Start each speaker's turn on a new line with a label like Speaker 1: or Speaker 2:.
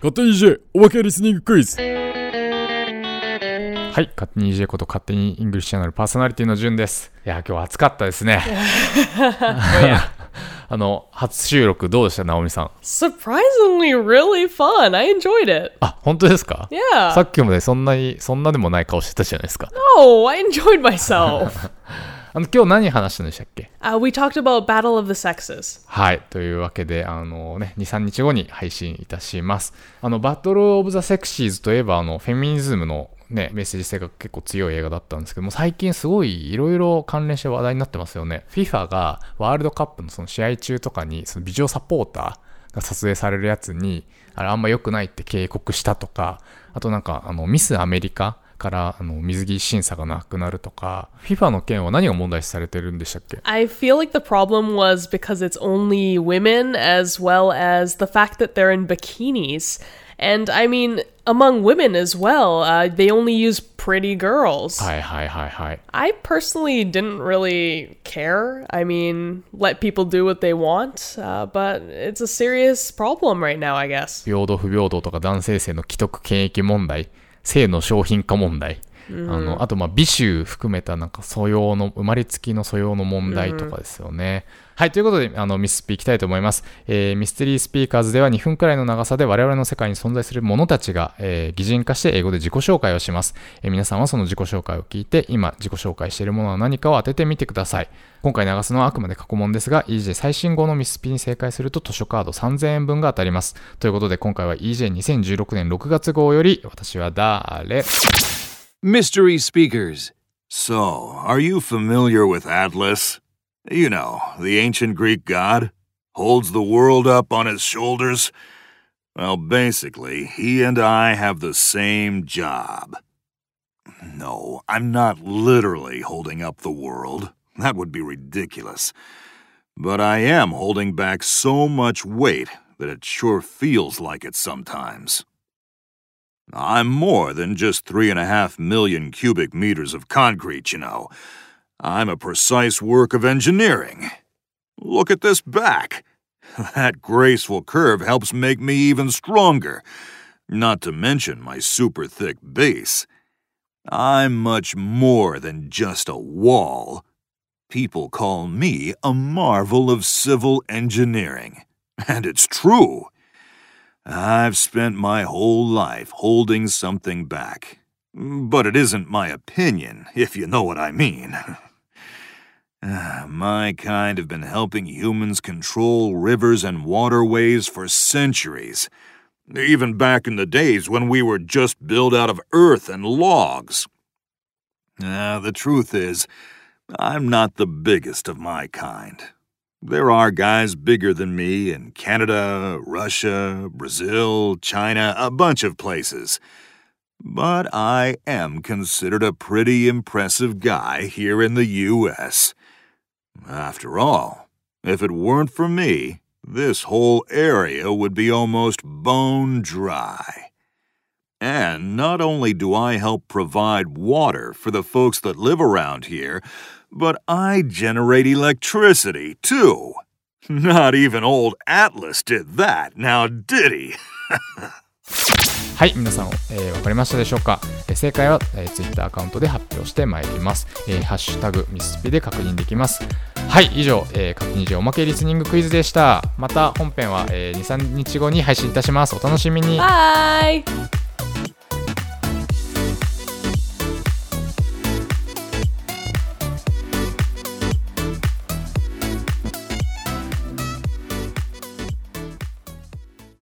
Speaker 1: 勝手に EJ おまけリスニングクイズ。
Speaker 2: はい、勝手に EJ こと勝手にイングリッシュチャンネルパーソナリティのじゅんです。いや今日暑かったですね。初収録どうでした直美さん。
Speaker 3: Surprisingly really fun. I enjoyed it.
Speaker 2: あ、本当ですか？
Speaker 3: Yeah.
Speaker 2: さっきまでそんなでもない顔してたじゃないですか。
Speaker 3: No, I enjoyed myself.
Speaker 2: 今日何話したんでしたっけ？
Speaker 3: We talked about Battle of the Sexes.
Speaker 2: はい、というわけで2、3日後に配信いたします。バトルオブザセクシーズといえばフェミニズムのね、メッセージ性が結構強い映画だったんですけども、最近すごいいろいろ関連して話題になってますよね。FIFA がワールドカップのその試合中とかにそのビデオサポーターが撮影されるやつにあんま良くないって警告したとか、あとなんかミスアメリカから水着審査がなくなるとか、 FIFA の件は何が問題視されてるんでしたっけ？
Speaker 3: I feel like the problem was because it's only women as well as the fact that they're in bikinis. And I mean, among women as well, they only use pretty girls.
Speaker 2: はいはいはいはい。
Speaker 3: I personally didn't really care. I mean, let people do what they want, but it's a serious problem right now, I guess.
Speaker 2: 平等不平等とか男性性の既得権益問題、性の商品化問題、あと美醜含めたなんか素養の生まれつきの素養の問題とかですよね。はい、ということでミススピいきたいと思います。ミステリースピーカーズでは2分くらいの長さで我々の世界に存在する者たちが、擬人化して英語で自己紹介をします。皆さんはその自己紹介を聞いて今自己紹介しているものは何かを当ててみてください。今回流すのはあくまで過去問ですが EJ 最新号のミススピに正解すると図書カード3000円分が当たります。ということで今回は EJ2016 年6月号より私は誰
Speaker 4: Mystery Speakers. So, are you familiar with Atlas? You know, the ancient Greek god? Holds the world up on his shoulders? Well, basically, he and I have the same job. No, I'm not literally holding up the world. That would be ridiculous. But I am holding back so much weight that it sure feels like it sometimes.I'm more than just 3.5 million cubic meters of concrete, you know. I'm a precise work of engineering. Look at this back. That graceful curve helps make me even stronger. Not to mention my super thick base. I'm much more than just a wall. People call me a marvel of civil engineering. And it's true.I've spent my whole life holding something back. But it isn't my opinion, if you know what I mean. My kind have been helping humans control rivers and waterways for centuries. Even back in the days when we were just built out of earth and logs. The truth is, I'm not the biggest of my kind.There are guys bigger than me in Canada, Russia, Brazil, China, a bunch of places. But I am considered a pretty impressive guy here in the U.S. After all, if it weren't for me, this whole area would be almost bone dry. And not only do I help provide water for the folks that live around here,But I generate electricity, too. Not even old Atlas did that, now did he?
Speaker 2: はい、皆さん、わかりましたでしょうか？正解は、Twitter アカウントで発表してまいります。ハッシュタグミスピで確認できます。はい、以上、勝手に EJ おまけリスニングクイズでした。また本編は、2、3日後に配信いたします。お楽しみに。
Speaker 3: Bye!